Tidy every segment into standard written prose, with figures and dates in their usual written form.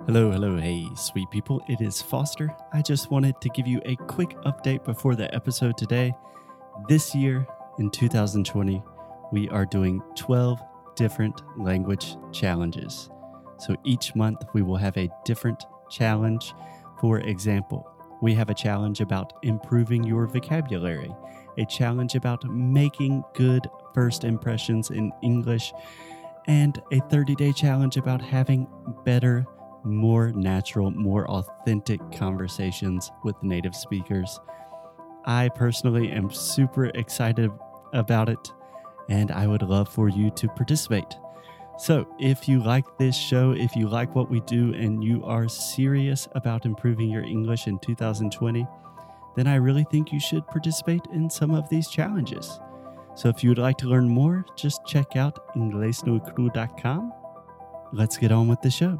Hey, sweet people. It is Foster. I just wanted to give you a quick update before the episode today. This year, in 2020, we are doing 12 different language challenges. So each month, we will have a different challenge. For example, we have a challenge about improving your vocabulary, a challenge about making good first impressions in English, and a 30-day challenge about having better, more natural, more authentic conversations with native speakers. I personally am super excited about it, and I would love for you to participate. So if you like this show, if you like what we do, and you are serious about improving your English in 2020, then I really think you should participate in some of these challenges. So if you would like to learn more, just check out inglesnocru.com. Let's get on with the show.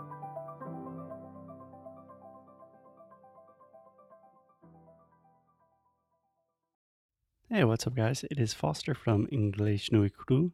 Hey, what's up, guys? It is Foster from English No Cru.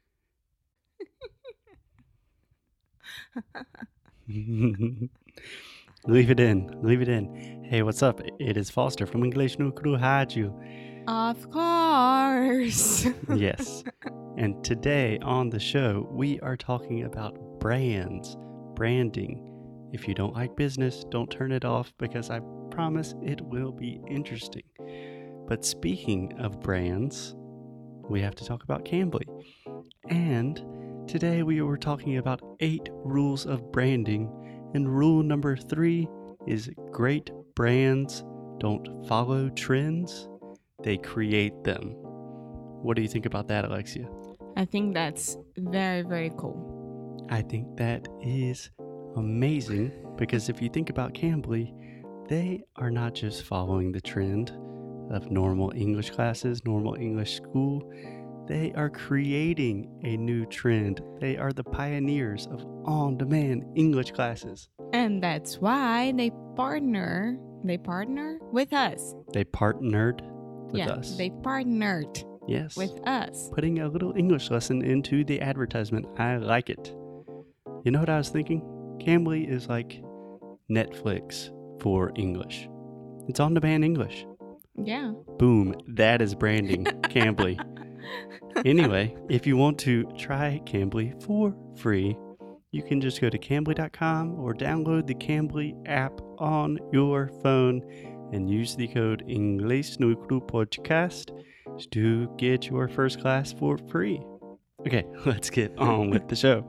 Leave it in. Hey, what's up? It is Foster from English No Cru Rádio. Of course. Yes. And today on the show, we are talking about brands, branding. If you don't like business, don't turn it off because I promise it will be interesting. But speaking of brands, we have to talk about Cambly. And today we were talking about 8 rules of branding. And rule number 3 is great brands don't follow trends, they create them. What do you think about that, Alexia? I think that's very, very cool. I think that is amazing because if you think about Cambly, they are not just following the trend of normal English classes, normal English school. They are creating a new trend. They are the pioneers of on-demand English classes. And that's why they partner with us. They partnered with us. They partnered with us. Putting a little English lesson into the advertisement. I like it. You know what I was thinking? Cambly is like Netflix for English. It's on-demand English. Yeah. Boom. That is branding. Cambly. Anyway, if you want to try Cambly for free, you can just go to Cambly.com or download the Cambly app on your phone and use the code Inglês no Cru Podcast to get your first class for free. Okay, let's get on with the show.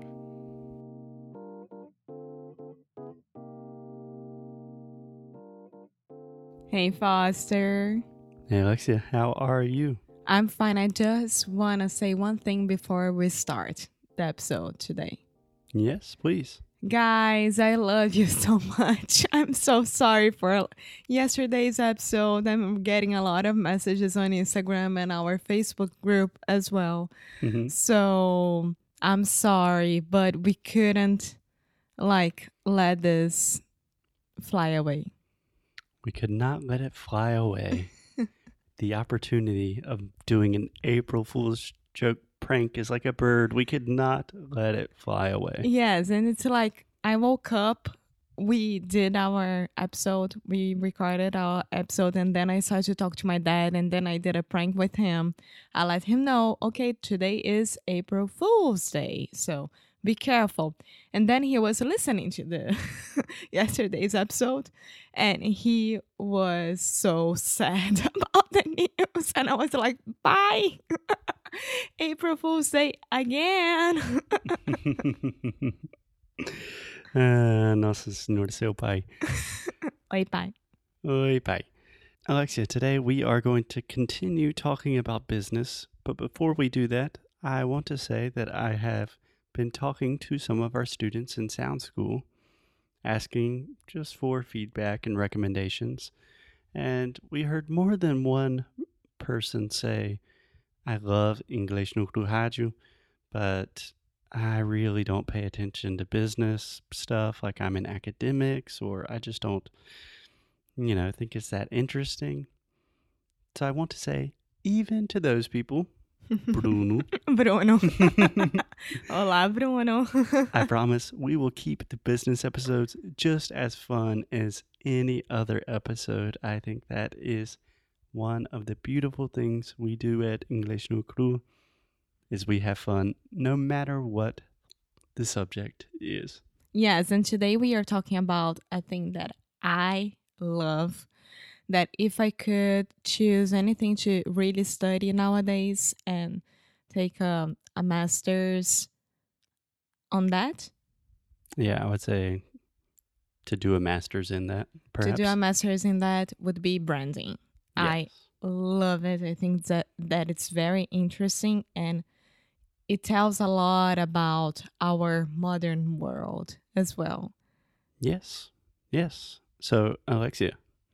Hey, Foster. Hey, Alexia, how are you? I'm fine. I just want to say one thing before we start the episode today. Yes, please. Guys, I love you so much. I'm so sorry for yesterday's episode. I'm getting a lot of messages on Instagram and our Facebook group as well. Mm-hmm. So I'm sorry, but we couldn't let this fly away. We could not let it fly away. The opportunity of doing an April Fool's joke prank is like a bird. We could not let it fly away. Yes, and it's like I woke up, we did our episode, we recorded our episode, and then I started to talk to my dad, and then I did a prank with him. I let him know, okay, today is April Fool's Day, so be careful. And then he was listening to the yesterday's episode, and he was so sad about the news, and I was like, bye. April Fool's Day again. Nossa Senhora, seu pai. Oi, pai. Oi, pai. Alexia, today we are going to continue talking about business, but before we do that, I want to say that I have been talking to some of our students in Sound School, asking just for feedback and recommendations, and we heard more than one person say, I love English no Cru Rádio, but I really don't pay attention to business stuff, like I'm in academics, or I just don't, think it's that interesting. So I want to say, even to those people, Bruno. Bruno. Olá, Bruno. I promise we will keep the business episodes just as fun as any other episode. I think that is one of the beautiful things we do at English no Cru is we have fun no matter what the subject is. Yes, and today we are talking about a thing that I love, that if I could choose anything to really study nowadays and take a master's on that. Yeah, I would say to do a master's in that, perhaps. To do a master's in that would be branding. Yes. I love it. I think that it's very interesting and it tells a lot about our modern world as well. Yes. So, Alexia,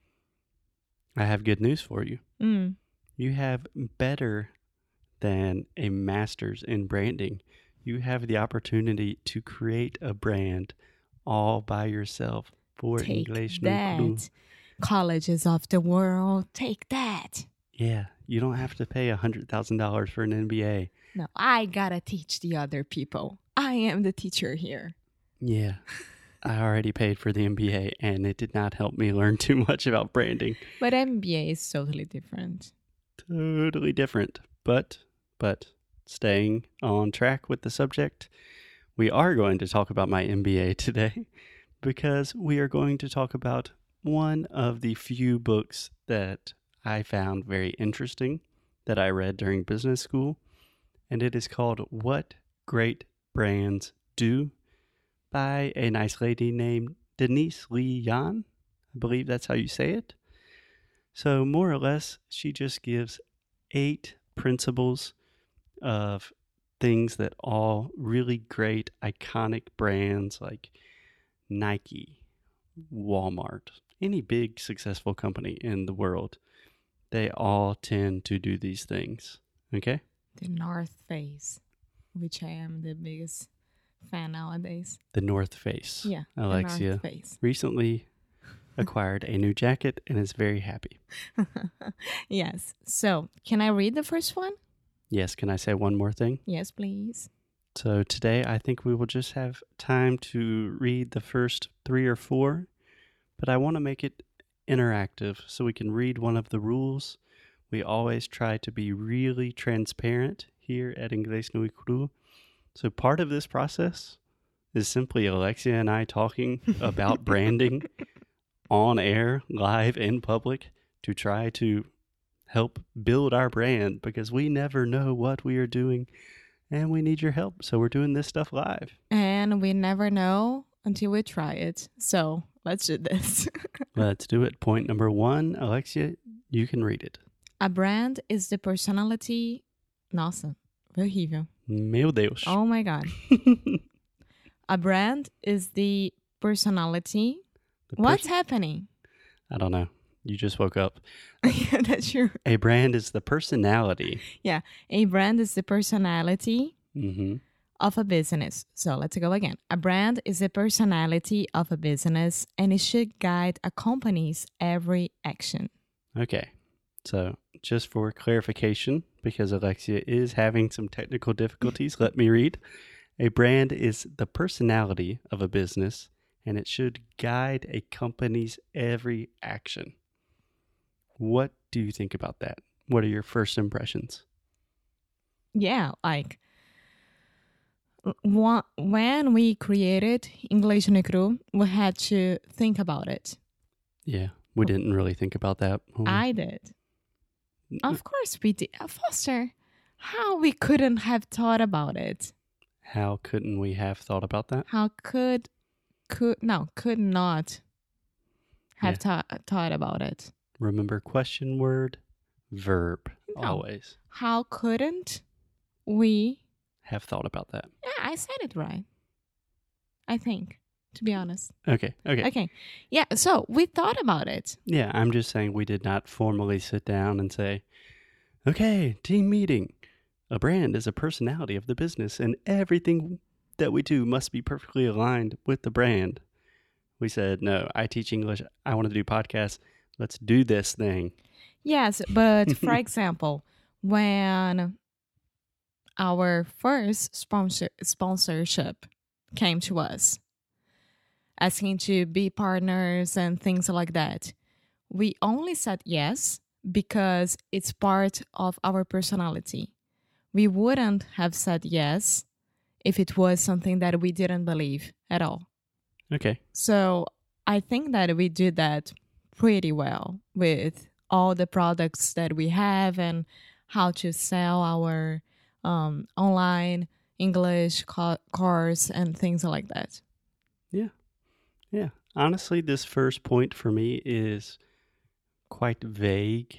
I have good news for you. You have better than a master's in branding. You have the opportunity to create a brand all by yourself for Take English no Cru. that. Colleges of the world, take that. Yeah, you don't have to pay $100,000 for an MBA. No, I gotta teach the other people. I am the teacher here. Yeah, I already paid for the MBA and it did not help me learn too much about branding. But MBA is totally different. Totally different, but staying on track with the subject, we are going to talk about my MBA today because we are going to talk about one of the few books that I found very interesting that I read during business school, and it is called What Great Brands Do by a nice lady named Denise Lee Yan. I believe that's how you say it. So more or less, she just gives 8 principles of things that all really great, iconic brands like Nike, Walmart, any big successful company in the world, they all tend to do these things. Okay? The North Face, which I am the biggest fan nowadays. The North Face. Yeah, Alexia the North Face. recently acquired a new jacket and is very happy. Yes. So, can I read the first one? Yes, can I say one more thing? Yes, please. So today I think we will just have time to read the first 3 or 4, but I want to make it interactive so we can read one of the rules. We always try to be really transparent here at Inglés no Cru. So part of this process is simply Alexia and I talking about branding on air, live, in public to try to help build our brand because we never know what we are doing and we need your help. So we're doing this stuff live. And we never know until we try it. So, let's do this. Let's do it. Point number 1, Alexia, you can read it. A brand is the personality... Nossa, foi horrível. Meu Deus. Oh my God. A brand is the personality... What's happening? I don't know. You just woke up. Yeah, that's true. A brand is the personality. Yeah, a brand is the personality Mm-hmm. of a business. So let's go again. A brand is the personality of a business and it should guide a company's every action. Okay. So just for clarification, because Alexia is having some technical difficulties, let me read. A brand is the personality of a business and it should guide a company's every action. What do you think about that? What are your first impressions? Yeah, like when we created English no Cru, we had to think about it. Yeah, we didn't really think about that. I did. Of course we did. Foster, how we couldn't have thought about it? How couldn't we have thought about that? How could not have thought about it? Remember question word, verb, No. always. How couldn't we? Have thought about that. Yeah, I said it right. I think, to be honest. Okay. Okay. Yeah, so we thought about it. Yeah, I'm just saying we did not formally sit down and say, okay, team meeting. A brand is a personality of the business and everything that we do must be perfectly aligned with the brand. We said, no, I teach English. I want to do podcasts. Let's do this thing. Yes, but for example, when our first sponsorship came to us, asking to be partners and things like that, we only said yes because it's part of our personality. We wouldn't have said yes if it was something that we didn't believe at all. Okay. So I think that we did that pretty well with all the products that we have and how to sell our online English course and things like that. Yeah. Yeah. Honestly, this first point for me is quite vague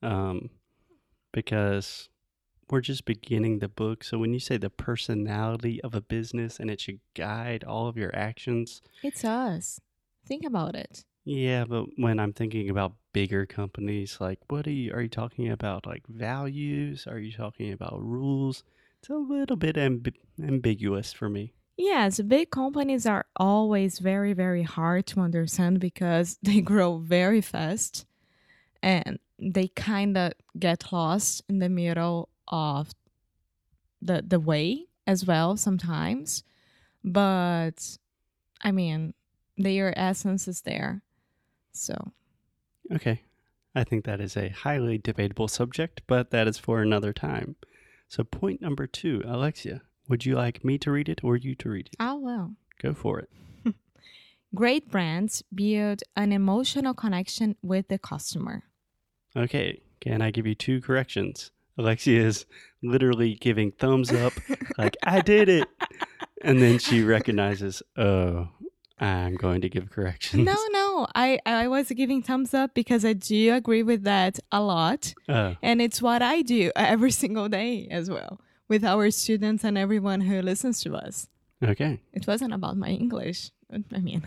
because we're just beginning the book. So when you say the personality of a business and it should guide all of your actions. It's us. Think about it. Yeah, but when I'm thinking about bigger companies, like are you talking about like values? Are you talking about rules? It's a little bit ambiguous for me. Yes, big companies are always very, very hard to understand because they grow very fast and they kind of get lost in the middle of the way as well sometimes. But I mean, their essence is there. So, okay. I think that is a highly debatable subject, but that is for another time. So point number 2, Alexia, would you like me to read it or you to read it? I will. Go for it. Great brands build an emotional connection with the customer. Okay, can I give you 2 corrections? Alexia is literally giving thumbs up, like, I did it. And then she recognizes, oh, I'm going to give corrections. No. I was giving thumbs up because I do agree with that a lot. And it's what I do every single day as well with our students and everyone who listens to us. Okay. It wasn't about my English. I mean.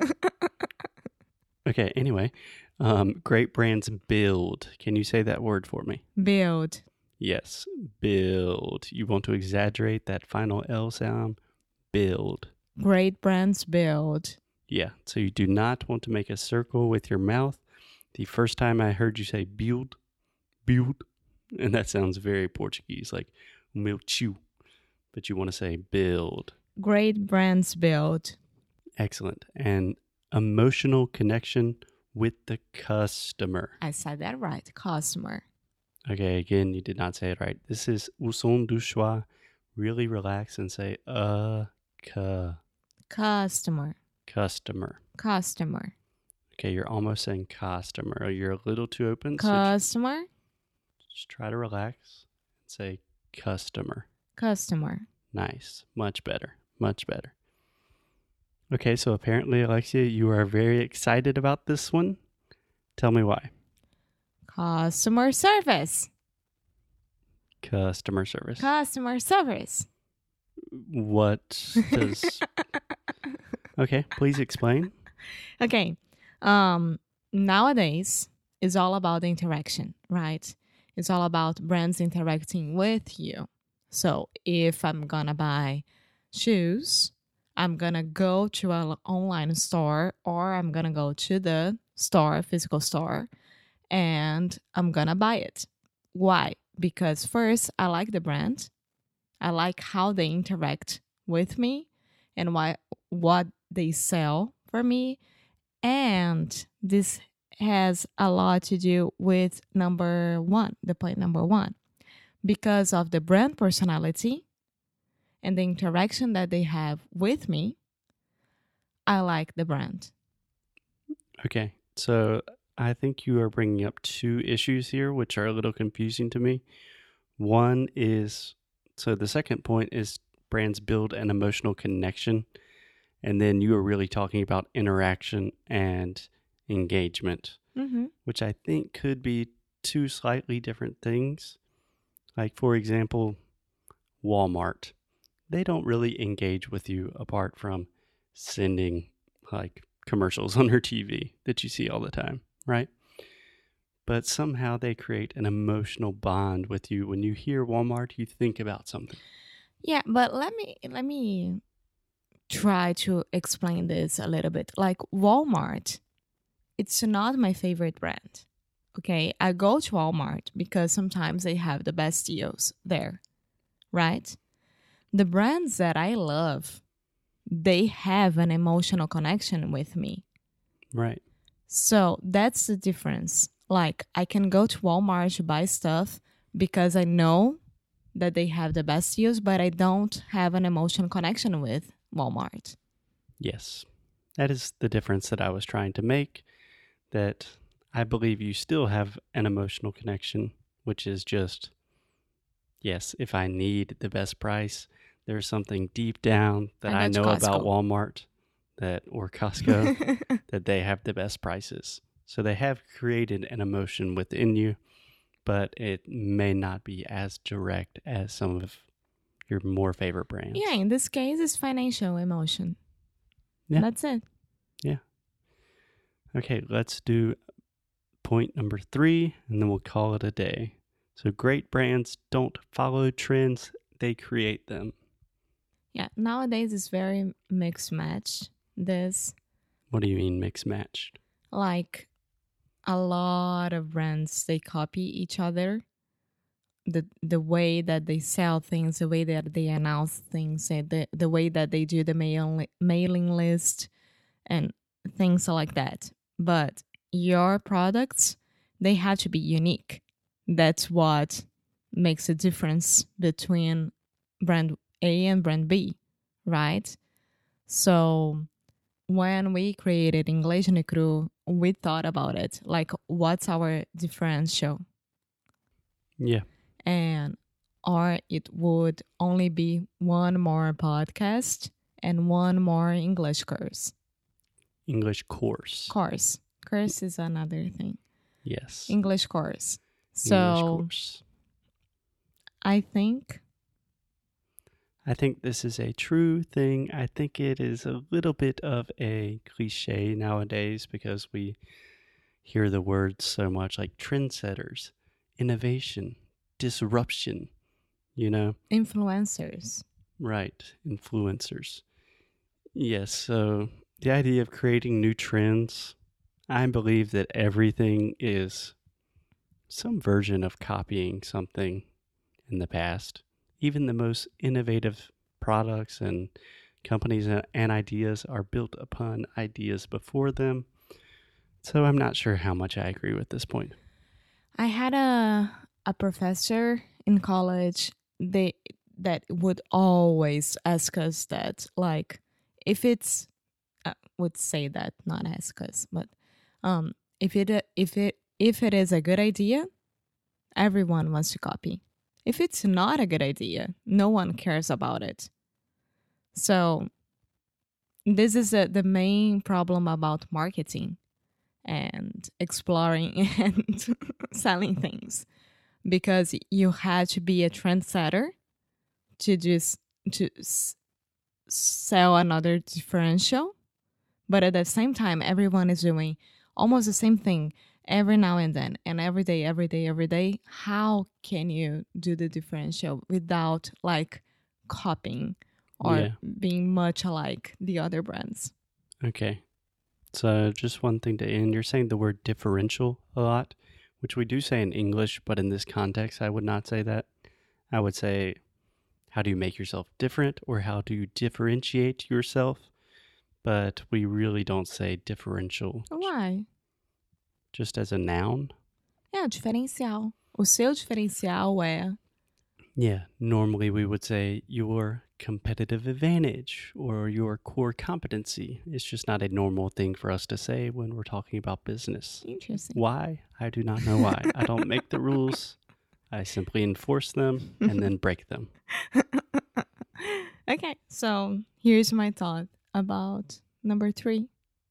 Okay, anyway. Great brands build. Can you say that word for me? Build. Yes, build. You want to exaggerate that final L sound? Build. Great brands build. Yeah, so you do not want to make a circle with your mouth. The first time I heard you say build, and that sounds very Portuguese, like meu tio, but you want to say build. Great brands build. Excellent. And emotional connection with the customer. I said that right, customer. Okay, again, you did not say it right. This is o som do schwa. Really relax and say customer. Customer. Okay, you're almost saying customer. You're a little too open. Customer. So just try to relax and say customer. Nice. Much better. Okay, so apparently, Alexia, you are very excited about this one. Tell me why. Customer service. What does... Okay, please explain. Okay. Nowadays, it's all about the interaction, right? It's all about brands interacting with you. So if I'm going to buy shoes, I'm going to go to an online store or I'm going to go to the store, physical store, and I'm going to buy it. Why? Because first, I like the brand. I like how they interact with me and what they sell for me. And this has a lot to do with the point number 1. Because of the brand personality and the interaction that they have with me, I like the brand. Okay, so I think you are bringing up 2 issues here, which are a little confusing to me. One is, so the second point is brands build an emotional connection. And then you are really talking about interaction and engagement, which I think could be 2 slightly different things. Like, for example, Walmart. They don't really engage with you apart from sending like commercials on their TV that you see all the time, right? But somehow they create an emotional bond with you. When you hear Walmart, you think about something. Yeah, but let me try to explain this a little bit. Like Walmart, it's not my favorite brand. Okay, I go to Walmart because sometimes they have the best deals there, right? The brands that I love, they have an emotional connection with me. Right. So that's the difference. Like, I can go to Walmart to buy stuff because I know that they have the best deals, but I don't have an emotional connection with Walmart. Yes. That is the difference that I was trying to make, that I believe you still have an emotional connection, which is just, yes, if I need the best price, there's something deep down that I know about Walmart or Costco that they have the best prices. So they have created an emotion within you, but it may not be as direct as some of your more favorite brands. Yeah, in this case, it's financial emotion. Yeah. That's it. Yeah. Okay, let's do point number 3, and then we'll call it a day. So great brands don't follow trends, they create them. Yeah, nowadays it's very mixed match. What do you mean mixed matched? Like, a lot of brands, they copy each other. The way that they sell things, the way that they announce things, and the way that they do the mailing list and things like that. But your products, they have to be unique. That's what makes a difference between brand A and brand B, right? So when we created Inglês no Cru, we thought about it. Like, what's our differential? Yeah. Or it would only be one more podcast and one more English course. English course. Course is another thing. Yes. English course. So English course. I think this is a true thing. I think it is a little bit of a cliche nowadays because we hear the words so much, like trendsetters, innovation, disruption, Influencers. Right, influencers. Yes, so the idea of creating new trends, I believe that everything is some version of copying something in the past. Even the most innovative products and companies and ideas are built upon ideas before them. So I'm not sure how much I agree with this point. I had a professor in college that would always ask us that, like, if it's would say that, not ask us, but if it is a good idea, everyone wants to copy. If it's not a good idea, no one cares about it. So this is the main problem about marketing and exploring and selling things, because you had to be a trendsetter to sell another differential, but at the same time everyone is doing almost the same thing every now and then, and every day. How can you do the differential without like copying or being much like the other brands? Okay, so just one thing to end. You're saying the word differential a lot, which we do say in English, but in this context I would not say that. I would say, how do you make yourself different, or how do you differentiate yourself? But we really don't say differential. Why? Just as a noun? É, diferencial. O seu diferencial é... Yeah, normally we would say your competitive advantage or your core competency. It's just not a normal thing for us to say when we're talking about business. Interesting. Why? I do not know why. I don't make the rules. I simply enforce them and then break them. Okay, so here's my thought about number 3.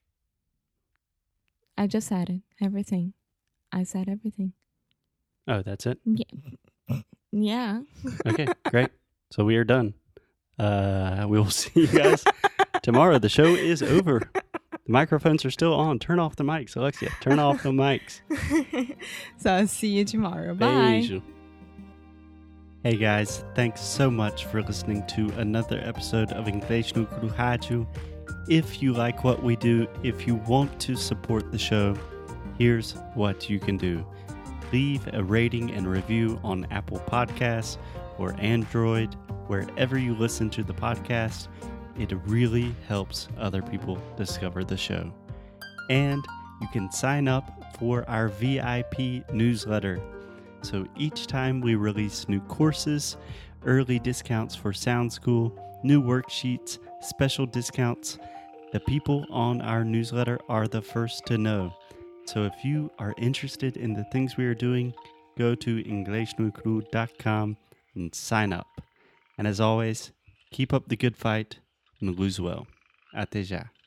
I just said it. Everything. I said everything. Oh, that's it? Yeah. Okay, great. So we are done. We will see you guys tomorrow. The show is over. The microphones are still on. Turn off the mics, Alexia. Turn off the mics. So I'll see you tomorrow. Bye. Beijo. Hey guys, thanks so much for listening to another episode of Inglês no Cru Rádio. If you like what we do, if you want to support the show, here's what you can do. Leave a rating and review on Apple Podcasts or Android, wherever you listen to the podcast. It really helps other people discover the show. And you can sign up for our VIP newsletter. So each time we release new courses, early discounts for Sound School, new worksheets, special discounts, the people on our newsletter are the first to know. So if you are interested in the things we are doing, go to inglesnuecru.com and sign up. And as always, keep up the good fight and lose well. Até já.